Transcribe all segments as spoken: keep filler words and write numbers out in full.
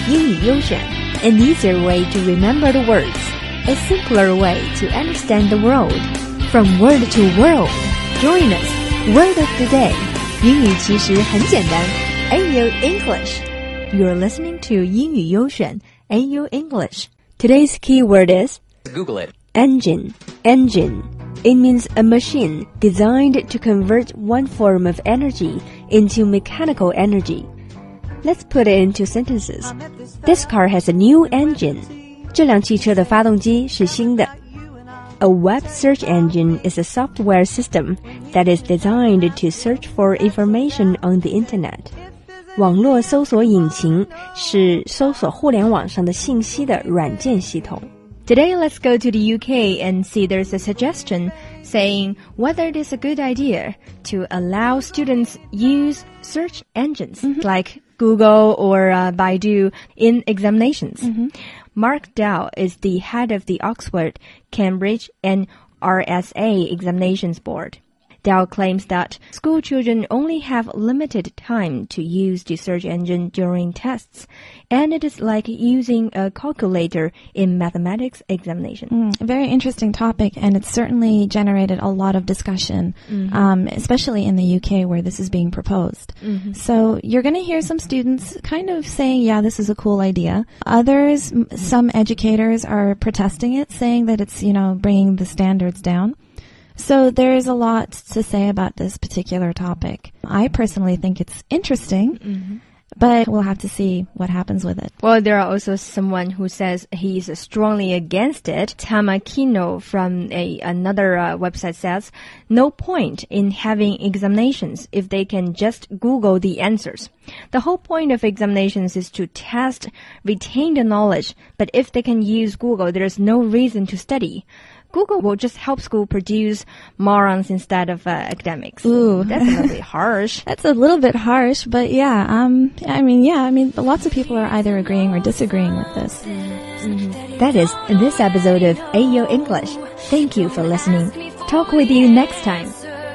英语优选 An easier way to remember the words, a simpler way to understand the world. From word to world, join us. Word of the day. 英语其实很简单 A U English. You're listening to 英语优选 A U English. Today's keyword is Google it. Engine. Engine. It means a machine designed to convert one form of energy into mechanical energy. Let's put it into sentences. This car has a new engine. 这辆汽车的发动机是新的。A web search engine is a software system that is designed to search for information on the internet. 网络搜索引擎是搜索互联网上的信息的软件系统。Today, let's go to the U K and see there's a suggestion saying whether it is a good idea to allow students use search engines mm-hmm. like Google or uh, Baidu in examinations. Mm-hmm. Mark Dow is the head of the Oxford, Cambridge, and R S A examinations board. Dow claims that school children only have limited time to use the search engine during tests, and it is like using a calculator in mathematics examination. Mm, a very interesting topic, and it's certainly generated a lot of discussion, mm-hmm. um, especially in the U K where this is being proposed. Mm-hmm. So you're going to hear some students kind of saying, yeah, this is a cool idea. Others, some educators are protesting it, saying that it's, you know, bringing the standards down. So there is a lot to say about this particular topic. I personally think it's interesting, mm-hmm. but we'll have to see what happens with it. Well, there are also someone who says he's strongly against it. Tamakino from a, another uh, website says, no point in having examinations if they can just Google the answers. The whole point of examinations is to test retained knowledge, but if they can use Google, there's no reason to study. Google will just help school produce morons instead of uh, academics. Ooh. That's a little bit harsh. That's a little bit harsh, but yeah, um, I mean, yeah, I mean, lots of people are either agreeing or disagreeing with this. Mm-hmm. That is this episode of A U English. Thank you for listening. Talk with you next time.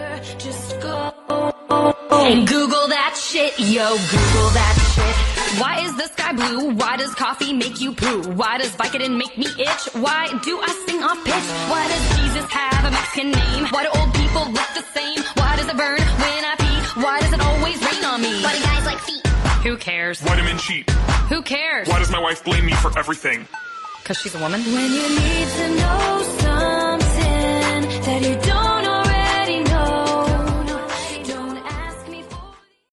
And Google that shit, yo, Google that shit. Why is the sky blue? Why does coffee make you poo? Why does Vicodin make me itch? Why do I sing off pitch? Why does Jesus have a Mexican name? Why do old people look the same? Why does it burn when I pee? Why does it always rain on me? Why do guys like feet? Who cares? Vitamin cheap. Who cares? Why does my wife blame me for everything? Because she's a woman? When you need to know something that you don't